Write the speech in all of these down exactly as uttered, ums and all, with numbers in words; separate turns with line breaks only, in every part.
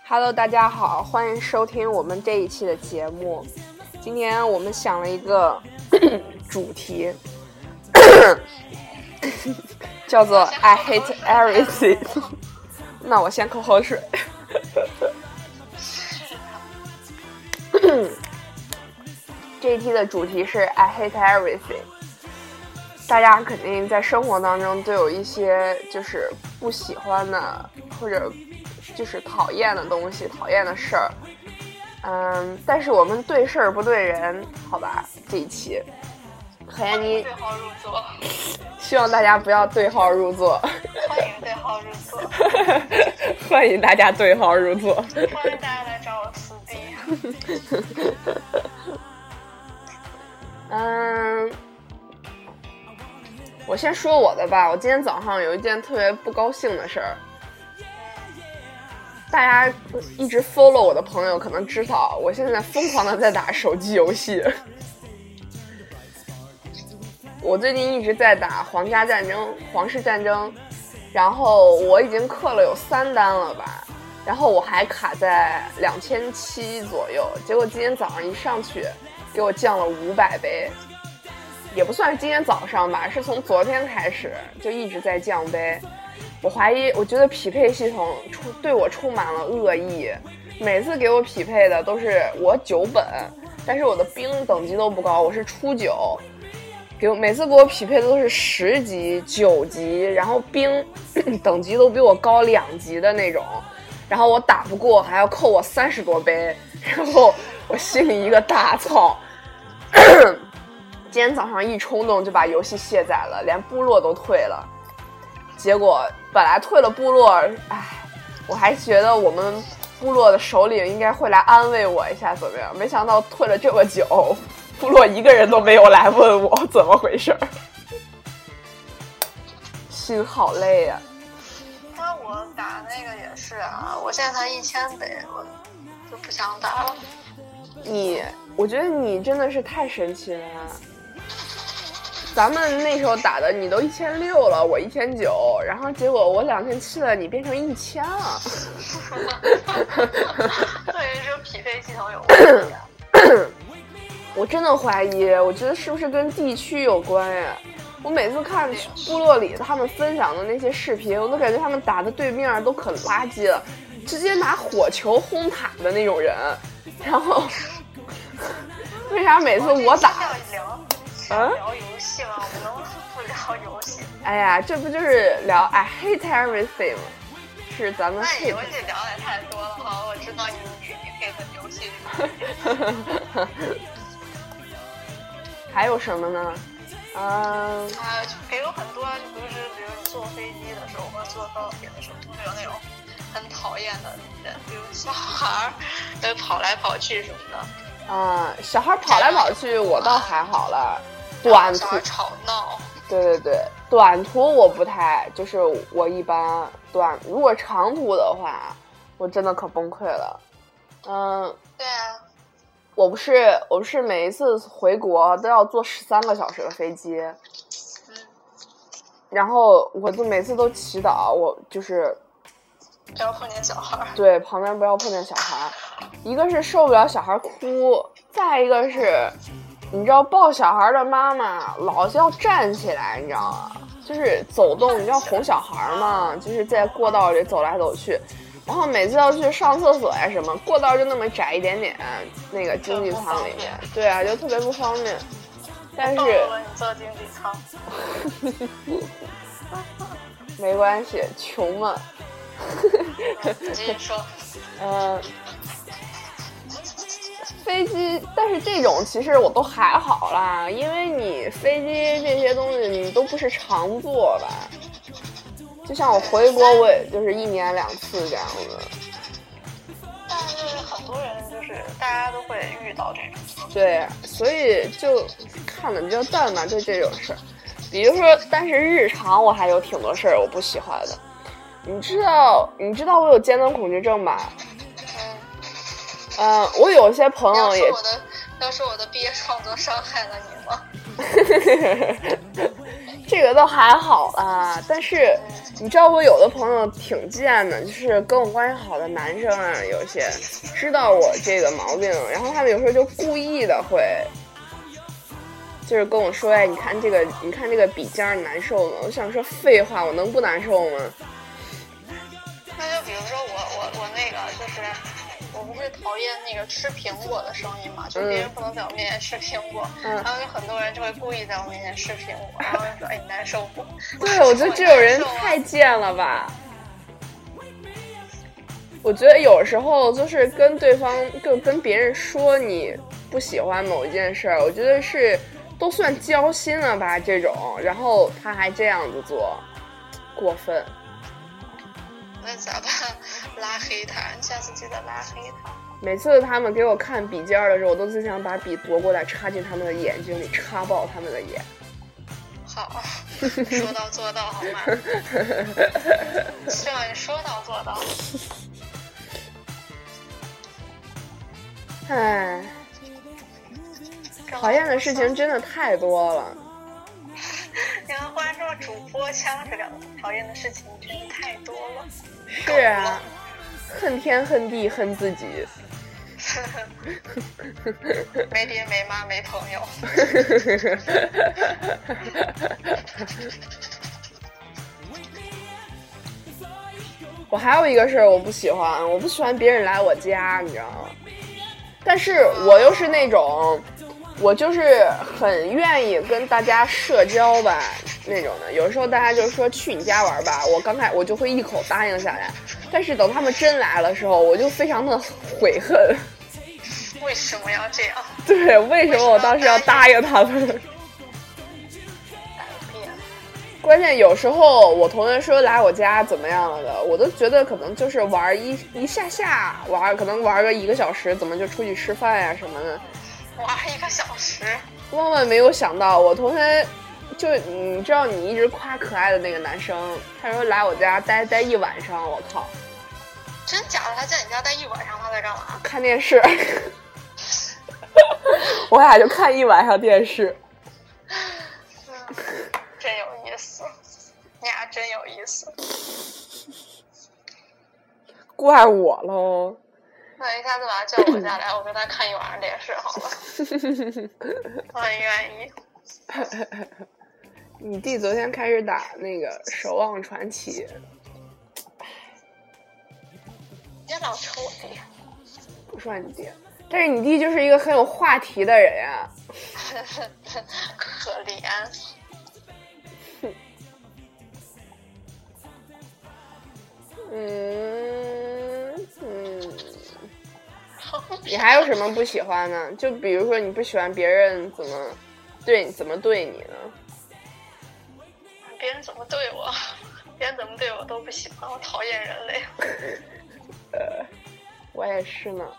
Hello， 大家好，欢迎收听我们这一期的节目。今天我们想了一个主题，叫做 I hate everything。那我先口口水。这一期的主题是 I hate everything。大家肯定在生活当中都有一些就是不喜欢的或者就是讨厌的东西，讨厌的事儿。嗯，但是我们对事儿不对人，好吧？这一期何妍妮
对号入座，
希望大家不要对号入座。
欢迎对号入座，
欢迎大家对号入座，
欢迎大家来找我撕逼。
嗯，我先说我的吧。我今天早上有一件特别不高兴的事儿。大家一直 follow 我的朋友可能知道，我现在疯狂的在打手机游戏。我最近一直在打皇家战争、皇室战争，然后我已经氪了有三单了吧，然后我还卡在两千七左右，结果今天早上一上去，给我降了五百杯，也不算是今天早上吧，是从昨天开始就一直在降杯。我怀疑，我觉得匹配系统充对我充满了恶意，每次给我匹配的都是我九本，但是我的兵等级都不高，我是初九，给我每次给我匹配的都是十级、九级，然后兵等级都比我高两级的那种，然后我打不过还要扣我三十多杯，然后我心里一个大操。今天早上一冲动就把游戏卸载了，连部落都退了。结果本来退了部落，唉，我还觉得我们部落的首领应该会来安慰我一下怎么样，没想到退了这么久，部落一个人都没有来问我怎么回事，心好累呀、
啊。那我打那个也是啊，我现在才一千杯，我就不想打了。
你，我觉得你真的是太神奇了。咱们那时候打的，你都一千六了，我一千九，然后结果我两千七了，你变成一千了。
对，这个匹配系统有问题啊。
我真的怀疑，我觉得是不是跟地区有关呀？我每次看部落里他们分享的那些视频，我都感觉他们打的对面都可垃圾了，直接拿火球轰塔的那种人。然后，为啥每次我打？
啊，聊游戏吗？我们能不聊游戏？
哎呀，这不就是聊 I hate everything 吗？是咱们 hate。
那游戏聊的太多了哈，我知道你你你 hate 游戏这个。
还有什么呢？嗯、呃，
啊，也有很多，就比如是比如你坐飞机的时候或者坐高铁的时候，会有那种很讨厌的人，比如小孩儿，跑来跑去什么的。
啊、嗯，小孩跑来跑去我倒还好了，短途
吵闹。
对对对，短途我不太，就是我一般短，如果长途的话，我真的可崩溃了。嗯，
对啊，
我不是我不是每一次回国都要坐十三个小时的飞机，
嗯，
然后我就每次都祈祷，我就是
不要碰见小孩，
对，旁边不要碰见小孩。一个是受不了小孩哭，再一个是，你知道抱小孩的妈妈老是要站起来，你知道吗？就是走动，你知道哄小孩嘛，就是在过道里走来走去，然后每次要去上厕所呀什么，过道就那么窄一点点，那个经济舱里面，对啊，就特别不方便。但是
你坐经济舱，
没关系，穷嘛。
你继续说。
嗯。飞机，但是这种其实我都还好啦，因为你飞机这些东西你都不是常坐吧，就像我回国我也就是一年两次这样子。
但是很多人就是大家都会遇到这种。
对，所以就看的比较淡嘛，对这种事儿。比如说，但是日常我还有挺多事儿我不喜欢的。你知道，你知道我有尖端恐惧症吧？嗯，我有些朋友也。
要说我的，要说我的毕业创作伤害了你吗？
这个倒还好啦，但是你知道我有的朋友挺贱的，就是跟我关系好的男生啊，有些知道我这个毛病，然后他们有时候就故意的会，就是跟我说，哎，你看这个，你看这个笔尖你难受吗？我想说废话，我能不难受吗？
那就比如说我我我那个就是。我不是讨厌那个吃苹果的声音嘛，就别人不能在我面前吃苹果，嗯、然后有很多人就会故意在我面前吃苹果，然后就说：“哎，你难受不？”
对，我觉得这种人太贱了吧！我觉得有时候就是跟对方，就跟别人说你不喜欢某一件事儿，我觉得是都算交心了吧这种，然后他还这样子做，过分。
那咋办？拉黑他，你下次记得拉黑他。
每次他们给我看笔尖的时候，我都只想把笔夺过来插进他们的眼睛里，插爆他们的眼。
好，说到做到，好吗？希望你说到做到。
唉，讨厌的事情真的太多了。
你看，话说主播腔这个讨厌的事情真的太多了。
是啊，恨天恨地恨自己。
没爹没妈没朋友。
我还有一个事儿我不喜欢，我不喜欢别人来我家，你知道吗？但是我又是那种。我就是很愿意跟大家社交吧那种的，有时候大家就说去你家玩吧，我刚开我就会一口答应下来，但是等他们真来的时候，我就非常的悔恨。
为什么要这样？
对，为什么我当时要答应他们？关键有时候我同学说来我家怎么样了的，我都觉得可能就是玩一一下下玩，可能玩个一个小时，怎么就出去吃饭呀什么的。
哇，一个小时！
万万没有想到，我同学就你知道，你一直夸可爱的那个男生，他说来我家待待一晚上，我靠！
真假的？他在你家待一晚上，他在干嘛？
看电视。我俩就看一晚上电视。
嗯，真有意思，你俩真有意思。
怪我喽。
那一下子把他叫我家来，我跟他看一晚上电视好了。我很愿意。
你弟昨天开始打那个《守望传奇》。
别老抽我弟。
不说你弟，但是你弟就是一个很有话题的人呀、
啊。可怜。
嗯嗯。你还有什么不喜欢呢？就比如说你不喜欢别人怎么对你怎么对你呢？
别人怎么对我，别人怎么对我都不喜欢，我讨厌人类。
呃，我也是呢。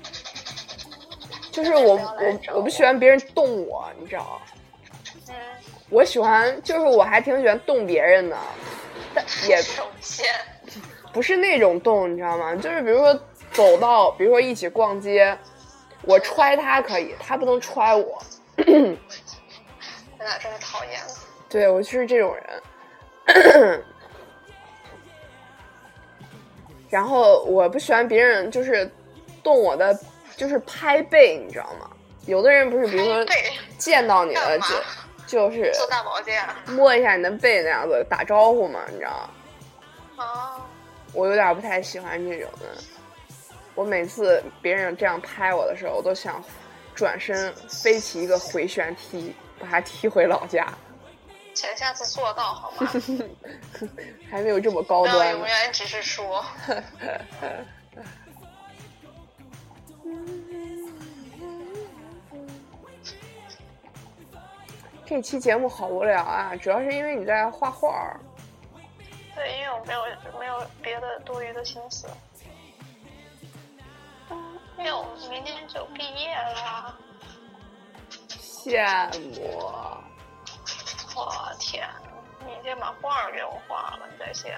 就是我我我不喜欢别人动我，你知道？
嗯。
我喜欢，就是我还挺喜欢动别人的，但也不是那种动，你知道吗？就是比如说。走到，比如说一起逛街，我揣他可以，他不能揣我。
你俩真是讨厌。
对，我就是这种人。然后我不喜欢别人就是动我的，就是拍背，你知道吗？有的人不是，比如说见到你了就就是
做大保健，
摸一下你的背那样子打招呼嘛，你知道吗？
哦。
我有点不太喜欢这种的。我每次别人这样拍我的时候，我都想转身飞起一个回旋踢，把他踢回老家。
请下次做到好吗？
还没有这么高端。
不要永远只是说。
这期节目好无聊啊，主要是因为你在画画。
对，因为我没有没有别的多余的心思。因为我明天就毕业了。
羡慕。
我天，你先把画给我画了，你再写。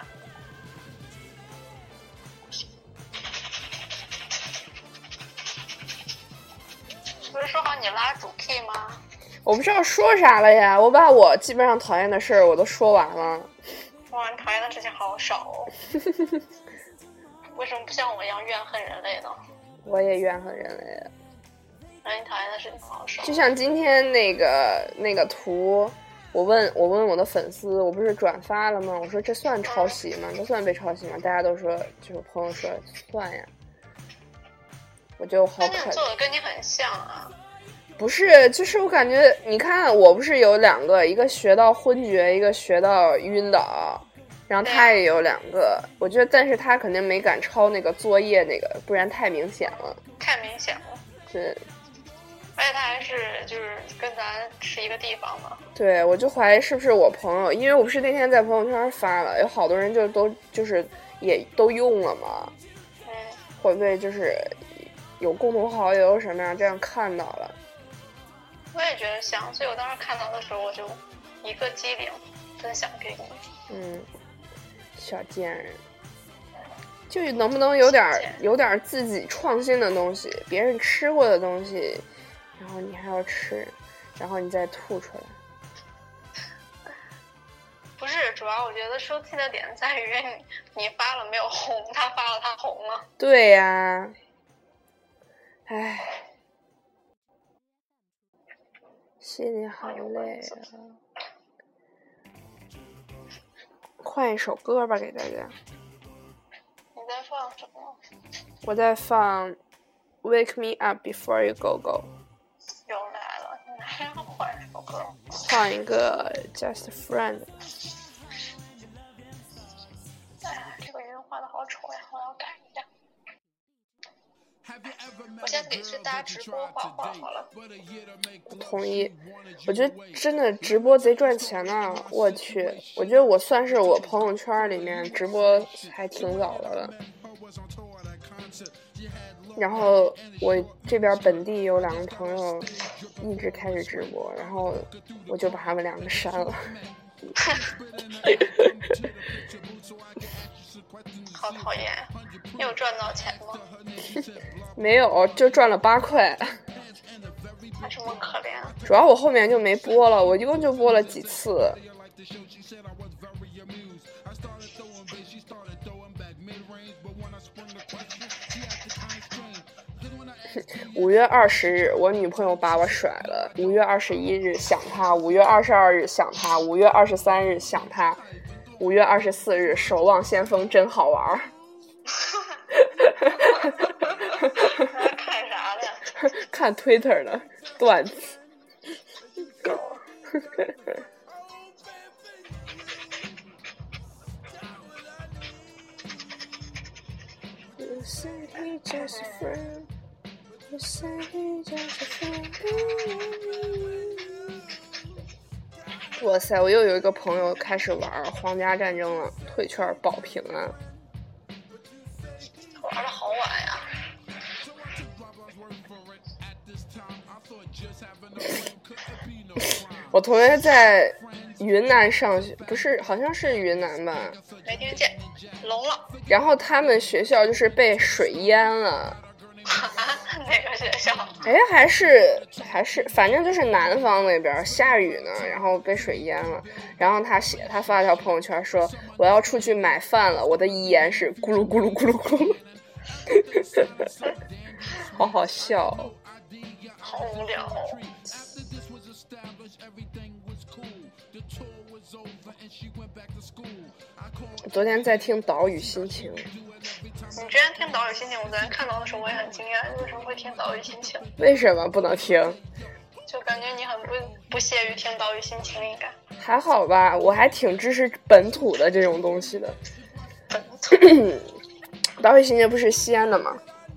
不是说好你拉主 key 吗？
我不知道说啥了呀，我把我基本上讨厌的事儿我都说完了。
哇，你讨厌的事情好少哦。为什么不像我一样怨恨人类呢？
我也怨恨人类。
那你讨厌的事情好少。
就像今天那个那个图，我问我问我的粉丝，我不是转发了吗？我说这算抄袭吗？这算被抄袭吗？大家都说，就是朋友说算呀。我觉得我好可怜。
做的跟你很像啊。
不是，就是我感觉，你看，我不是有两个，一个学到昏厥，一个学到晕倒，然后他也有两个，我觉得，但是他肯定没敢抄那个作业那个，不然太明显了。
太明显了。
对。
而且他还是就是跟咱是一个地方嘛。
对，我就怀疑是不是我朋友，因为我不是那天在朋友圈发了，有好多人就都就是也都用了嘛。
嗯。
会不会就是有共同好友什么呀？这样看到了。
我也觉得像，所以我当时看到的时候，我就一个机灵分享给你。
嗯，小贱人，就能不能有点有点自己创新的东西，别人吃过的东西，然后你还要吃，然后你再吐出来。
不是，主要我觉得生气的点在于你你发了没有红，他发了他红了。
对呀，唉。心里好累啊！换一首歌吧，给大家。
你在放什么？
我在放《Wake Me Up Before You Go Go》。
又来了，你还要换一首歌？
换一个《Just a Friend》。
哎，这个音画的好丑呀，我要改一下。我先给去大家直播画画好了。
同意，我觉得真的直播贼赚钱呢。我去，我觉得我算是我朋友圈里面直播还挺早的了。然后我这边本地有两个朋友一直开始直播，然后我就把他们两个删了。
好讨厌！你有赚到钱吗？
没有，就赚了八块。
还这么可怜？
主要我后面就没播了，我一共就播了几次。五月二十日，我女朋友把我甩了。五月二十一日想她，五月二十二日想她，五月二十三日想她，五月二十四日守望先锋真好玩。
看啥的呀？
看 Twitter 的段子。You said he just a friend. You said he just a friend. 哇塞！我又有一个朋友开始玩皇家战争了，退圈保平安。
玩的好晚呀！
我同学在云南上学，不是，好像是云南吧？
没听见，聋了。
然后他们学校就是被水淹了。
哪个学校？
哎，还是还是，反正就是南方那边下雨呢，然后被水淹了。然后他写，他发了条朋友圈说：“我要出去买饭了，我的遗言是咕噜咕噜咕噜咕噜。”好好笑哦，
好无聊哦。
我昨天在听岛屿心情。
你之前听岛屿心情，我昨天看到的时候我也很惊讶，你为什么会听岛屿心情？
为什么不能听？
就感觉你很不不屑于听岛屿心情，应该
还好吧，我还挺支持本土的这种东西的。
本土
岛屿心情不是西安的吗？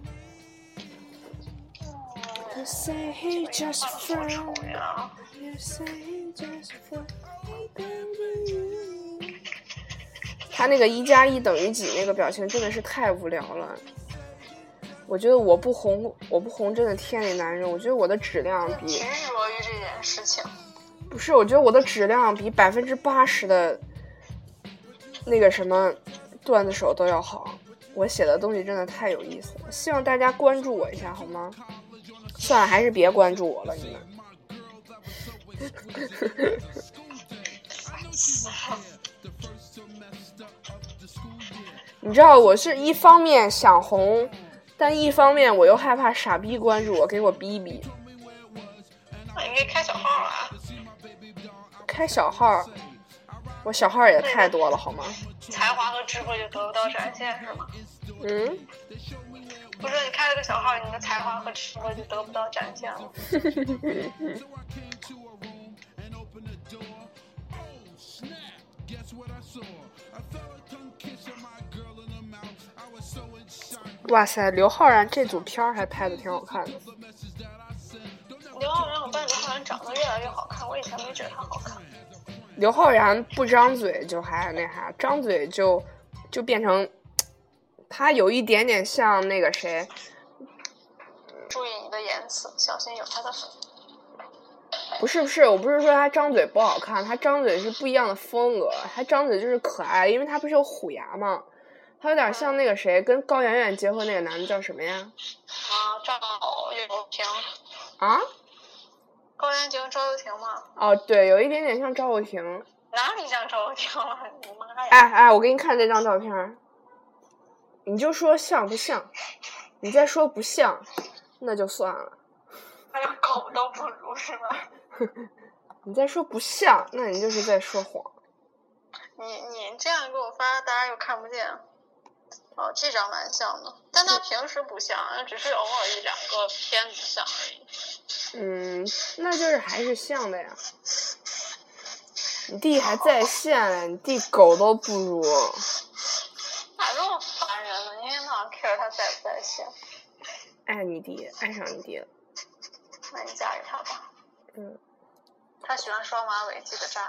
他那个一加一等于几那个表情真的是太无聊了。我觉得我不红，我不红真的天理难容。我觉得我的质量比
执着于这件事情，
不是，我觉得我的质量比百分之八十的那个什么段子手都要好。我写的东西真的太有意思了，希望大家关注我一下好吗？算了，还是别关注我了，你们。 你知道我是一方面想红，但一方面我又害怕傻逼关注我，给我逼逼。
那你可以开小号啊。
开小号，我小号也太多了好吗？
才华和智慧就得不到展现是吗？
嗯。
不是你开了个小号，你的才华和智慧就得不到展现了。
哇塞，刘昊然这组片儿还拍的挺好看的。
刘昊然，我发现刘昊然长得越来越好看，我以前没觉得他好看。
刘昊然不张嘴就还那啥，张嘴就就变成，他有一点点像那个谁。
注意你的言辞，小心有他的粉。
不是不是，我不是说他张嘴不好看，他张嘴是不一样的风格，他张嘴就是可爱，因为他不是有虎牙吗？他有点像那个谁，跟高圆圆结婚那个男的叫什么呀？
啊，赵又廷。
啊？
高圆圆结婚赵又廷吗？
哦，对，有一点点像赵又廷。
哪里像赵又廷了？你妈呀！
哎哎，我给你看这张照片，你就说像不像？你再说不像，那就算了。
那就狗都不如是吧？
你再说不像，那你就是在说谎。
你你这样给我发，大家又看不见。哦，这张蛮像的，但他平时不像，只是偶尔一两个片子像而已。
嗯，那就是还是像的呀。你弟还在线嘞，你弟狗都不如。
哪这么烦人呢？一天到晚 care 他在不在线。
爱你弟，爱上你弟了。
那你嫁给他吧。
嗯。
他喜欢双马尾，记得扎。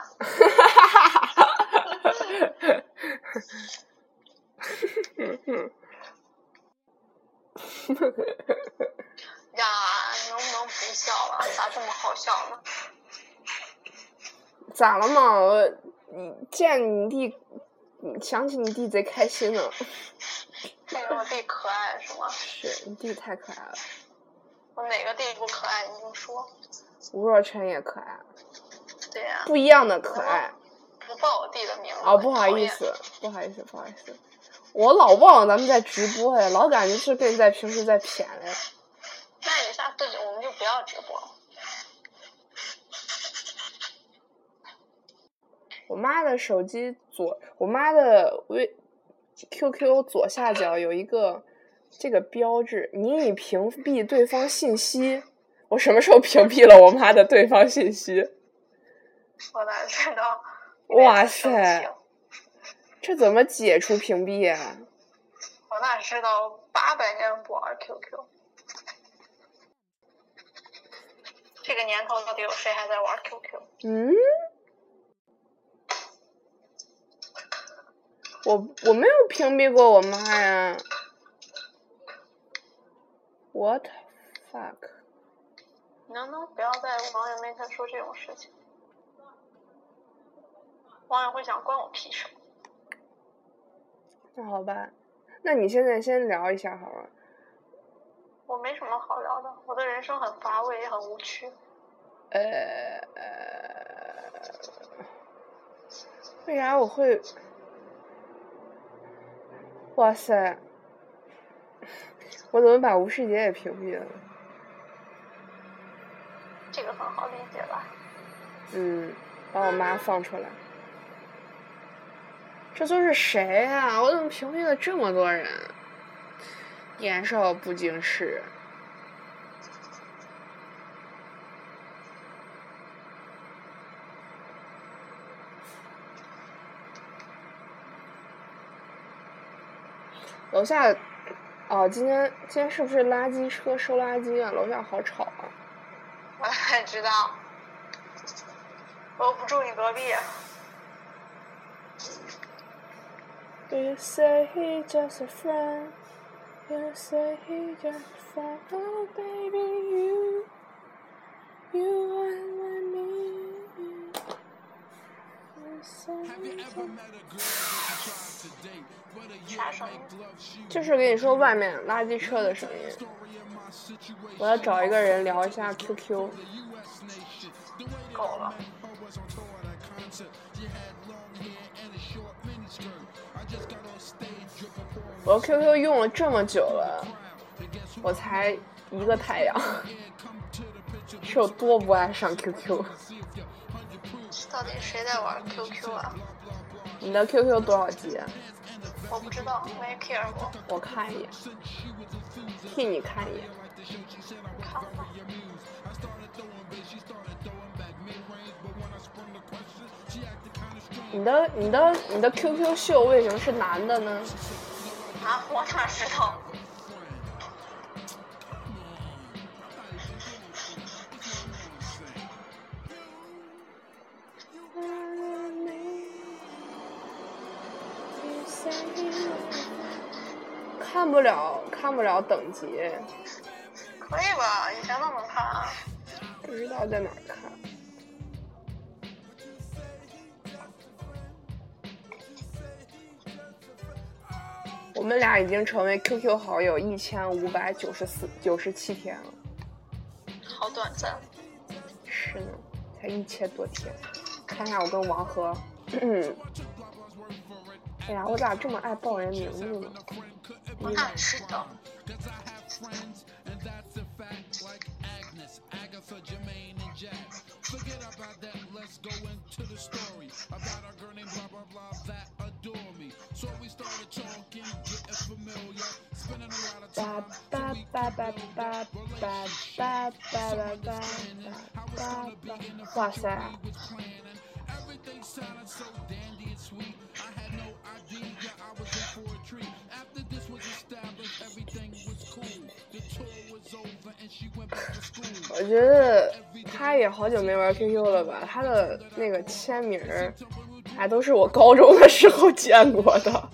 呀，你能不能不笑了？咋这么好笑呢？
咋了嘛？我你见你弟，想起你弟贼开心呢。
因为我弟可爱是吗？
是，你弟太可爱了。
我哪个弟不可爱？你就说。
吴若权也可爱。
对呀、啊。
不一样的可爱。
不报我弟的名字。
哦，不好意思，不好意思，不好意思。我老忘咱们在直播呀，老感觉是跟你在平时在谝嘞。
那你下次我们就不要直播了。
我妈的手机左，我妈的微 Q Q 左下角有一个这个标志，你已屏蔽对方信息。我什么时候屏蔽了我妈的对方信息？
我哪知道？
哇塞，这怎么解除屏蔽啊？
我哪知道？八百年不玩 Q Q。这个年头到底有谁还在玩 Q Q？
嗯。我我没有屏蔽过我妈呀 ！What the fuck？
你能不能不要在网友面前说这种事情？网友会想关我屁事。
那好吧，那你现在先聊一下好了。
我没什么好聊的，我的人生很乏味，也很无趣。
呃，为啥我会？哇塞！我怎么把吴世杰也屏蔽了？
这个很好理解吧？
嗯，把我妈放出来。这都是谁啊？我怎么屏蔽了这么多人？年少不经事。楼下，哦，今天今天是不是垃圾车收垃圾啊？楼下好吵啊！
我哪知道？我又不住你隔壁。
You say he just a friend. You say he just a friend. Oh baby, you, you are my need. You say he just.
啥声音？
就是跟你说外面垃圾车的声音。我要找一个人聊一下 Q Q。
够了。
我 Q Q 用了这么久了，我才一个太阳，是有多不爱上 Q Q？
到底谁在玩 Q Q 啊？
你的 Q Q 多少级？
我不知道，没 care 过。
我看一眼，替你看一眼。
看吧。
你的你的你的 Q Q 秀为什么是男的呢？
啊，我哪知道？
看不了，看不了等级。
可以吧？以前都能看啊。
不知道在哪儿看。我们俩已经成为 Q Q 好友一千五百九十四九十七天了。
好短暂。
是呢，才一千多天。看一下我跟王和。哎呀，我咋这么爱报人名字呢？
我哪知道？
叭叭叭叭叭叭叭叭叭叭叭叭！哇塞！我觉得他也好久没玩 Q Q 了吧？他的那个签名还都是我高中的时候见过的。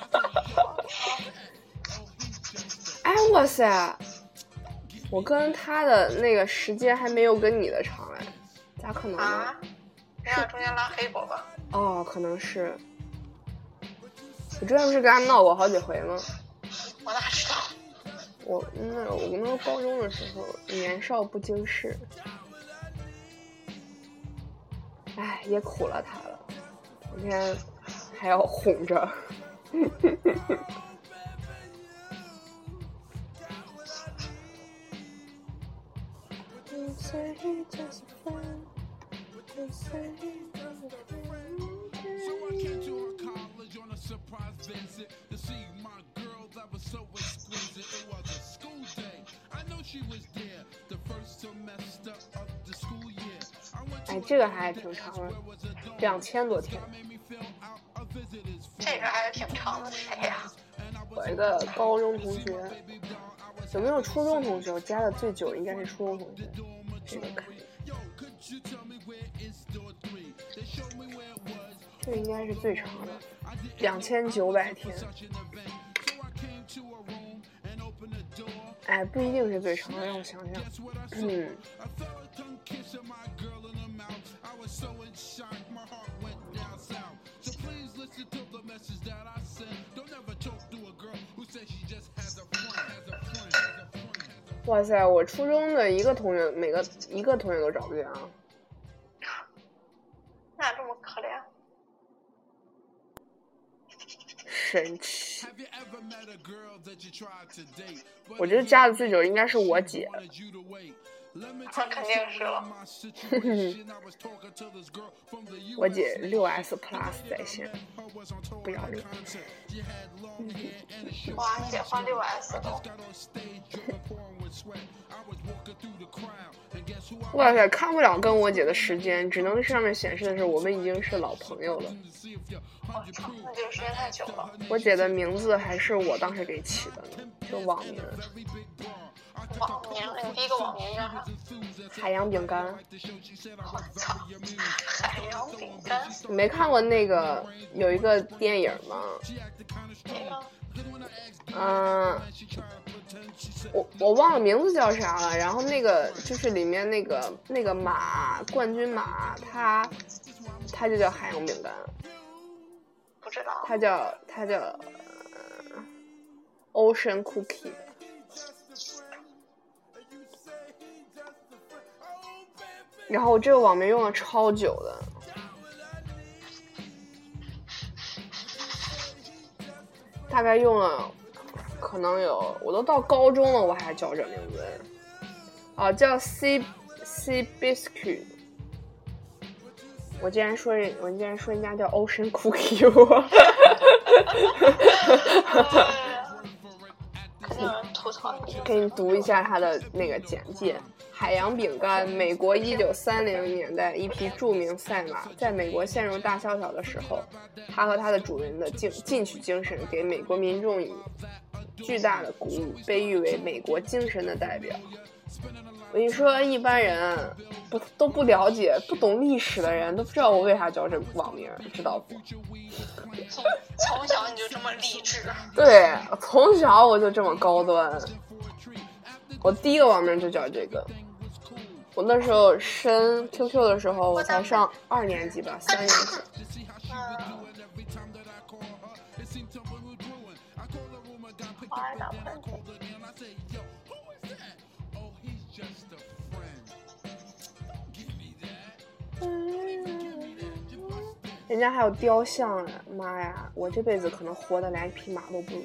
哎，哇塞！我跟他的那个时间还没有跟你的长哎，咋可能呢？
啊，你俩中间拉黑过吧？
哦，可能是。我之前不是跟他闹过好几回吗？
我哪知道？
我那我那个高中的时候年少不经事，哎，也苦了他了，今天还要哄着。哎，这个还挺长的，两千多天。
这个还是挺长的，谁呀？
我一个高中同学，有没有初中同学？我加的最久应该是初中同学。这个看，这个应该是最长的，两千九百天。哎，不一定是最长的，让我想想。嗯。哇塞，我初中的一个同学，每个一个同学都找不见啊！
那这么可怜？
神奇！我觉得加的最久应该是我姐。
那肯定是了。
我姐六 S Plus 在线，不要脸。
哇，你姐换六 S 都。
哇塞，看不了跟我姐的时间，只能上面显示的是我们已经是老朋友了。
我操，那就时间太久了。
我姐的名字还是我当时给起的呢，就网名。
网名？你第一个网名叫啥？
海洋饼干。
我操，海洋饼干。
你没看过那个有一个电影吗？
哪个？
嗯，我我忘了名字叫啥了。然后那个就是里面那个那个马冠军马，他他就叫海洋饼干。
不知道。
他叫他叫、呃、Ocean Cookie。 然后我这个网名用了超久的，大概用了可能有，我都到高中了我还叫这名字啊，叫 C C Biscuit。我竟然说人，我竟然说人家叫 Ocean Cookie 我
肯定有人吐槽。
给你读一下它的那个简介。海洋饼干，美国一九三零年代一匹著名赛马在美国陷入大萧条的时候，它和它的主人的进进取精神给美国民众以巨大的鼓舞，被誉为美国精神的代表。我跟你说，一般人不都不了解、不懂历史的人都不知道我为啥叫这网名，知道不？
从从小你就这么励志？
对，从小我就这么高端。我第一个网名就叫这个。我那时候申 Q Q 的时候，我才上二年级吧，三年级。
嗯。好爱打喷嚏。
人家还有雕像呢，妈呀！我这辈子可能活得连一匹马都不如。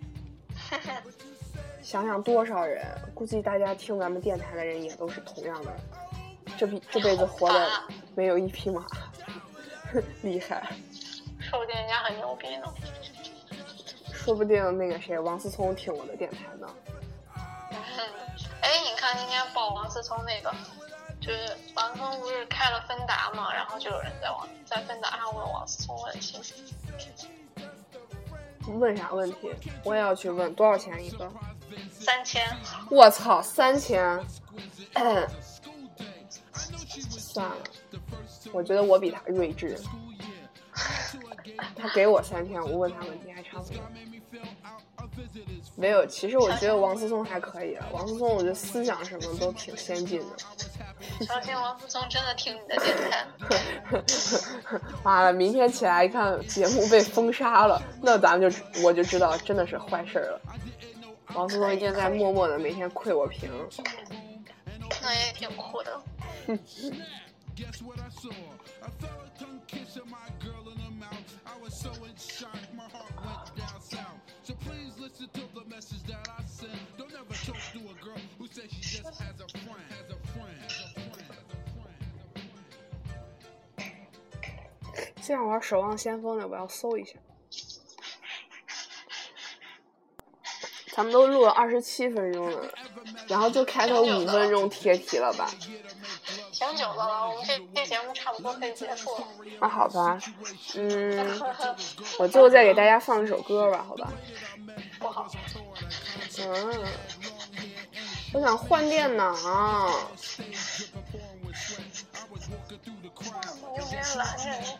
想想多少人，估计大家听咱们电台的人也都是同样的，这辈这辈子活的没有一匹马，厉害。
说不定人家很牛逼呢。
说不定那个谁王思聪听我的电台呢。
嗯，哎，你看今天报王思聪那个。就是王思聪不是开了芬达嘛，然后就有人在网在芬达上问王思聪问题。
问啥问题？我也要去问，多少钱一个？
三千。
我操，三千！算了，我觉得我比他睿智。他给我三千，我问他问题还差不多。没有，其实我觉得王思聪还可以啊。王思聪，我觉得思想什么都挺先进的。
相信王思聪真的听你的电台。
妈了，明天起来一看节目被封杀了，那咱们就我就知道真的是坏事了。王思聪一定在默默的每天窥我屏。
那也挺酷的。
这样玩守望先锋的，我要搜一下。咱们都录了二十七分钟了，然后就开头五分钟贴题了吧？
挺久的了，我们这这节目差不多可以结束了。
啊，好吧，嗯，我最后再给大家放一首歌吧，好吧？
不好。
嗯，我想换电脑。
我有点懒人。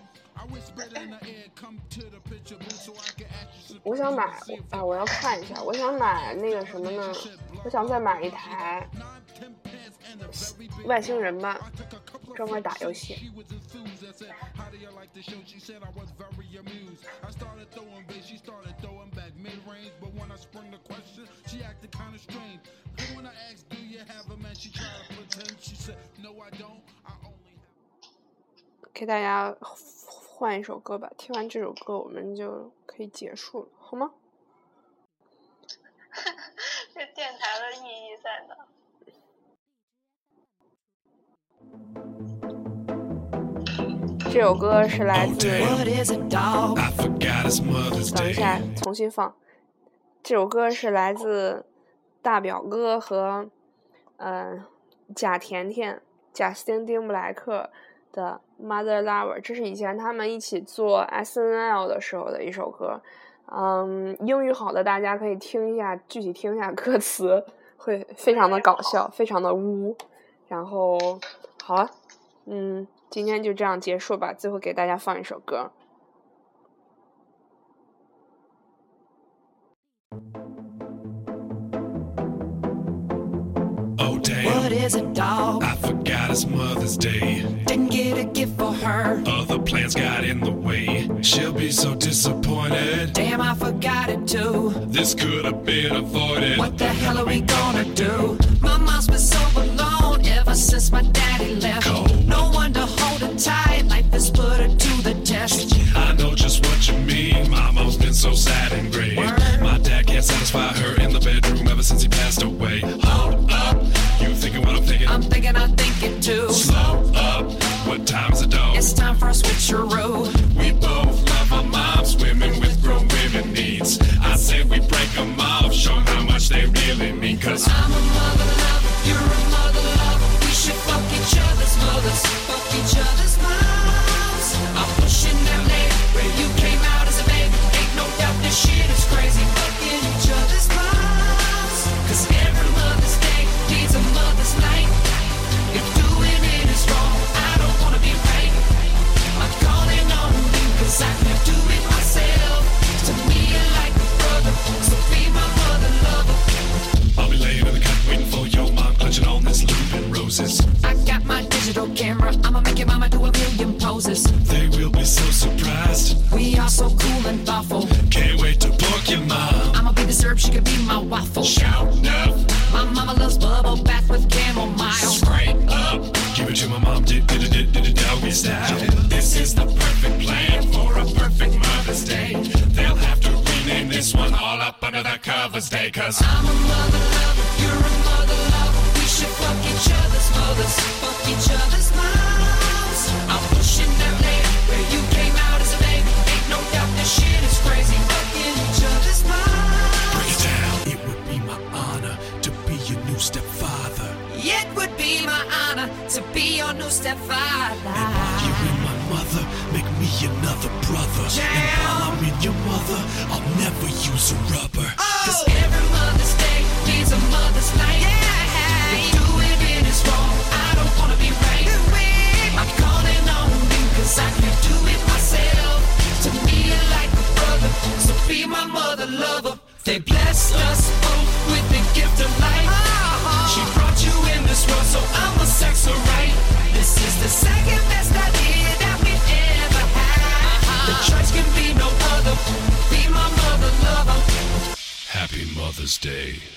我想买，哎，我要看一下，我想买那个什么呢？我想再买一台外星人吧，专门打游戏。给大家换一首歌吧，听完这首歌我们就可以结束了，好吗？
这电台的意义在哪？
这首歌是来自……等一下，重新放。这首歌是来自大表哥和呃贾甜甜、贾斯汀·丁布莱克的 Mother Lover， 这是以前他们一起做 S N L 的时候的一首歌。嗯，英语好的大家可以听一下，具体听一下歌词，会非常的搞笑，非常的污。然后好了，嗯，今天就这样结束吧。最后给大家放一首歌。
What is it, dog? I forgot it's Mother's Day. Didn't get a gift for her. Other plans got in the way. She'll be so disappointed. Damn, I forgot it too. This could have been avoided. What the hell are we gonna do? My mom's been so alone ever since my daddy left. Cold it too. Slow up, what time is it though? It's time for a switcheroo. We both love our moms, women with grown women needs. I say we break them off, show how much they really mean. Cause I'm a mother lover, you're a mother lover. We should fuck each other's mothers, fuck each other's moms. I'm pushing that leg where you came out as a baby. Ain't no doubt this shit is crazy, fucking each other's moms. Cause every Mother's Day needs a mother's night. If doing it is wrong, I don't wanna be right. I'm calling on you cause I can't do it myself. To me you're like a brother, so be my mother lover. I'll be laying in the cut waiting for your mom, clutching on this loop and roses. I got my digital camera, I'ma make your mama do a million poses. They will be so surprised. We are so cool and thoughtful. Can't wait to pork your mom. I'ma be the syrup, she could be my waffle. Shout up. My mama loves bubble bath with chamomile. Straight up. Give it to my mom, did did did did it doggy style. This is the perfect plan for a perfect Mother's Day. They'll have to rename this one all up under the covers day. Cause I'm a mother lover, you're a mother lover. We should fuck each other's mothers, fuck each other's moms. I'm pushing that leg where you came out as a baby. Ain't no doubt this shit is crazy, fucking each other's moms. Break it down. It would be my honor to be your new stepfather. It would be my honor to be your new stepfather. And while you're in my mother, make me another brother. Jam. And while I'm in your mother, I'll never use a rubber. Oh. Cause every Mother's Day needs a mother's night. Yeah. If doing it is wrong, I don't wanna be right. I'm calling on you cause I can't do it myself. To me you're like a brother, so be my mother lover. They blessed us both with the gift of life. Oh. She brought you in this world, so I'ma sex her right. This is the second best idea that we ever had. Uh-huh. The choice can be no other. Be my mother lover. Happy Mother's Day.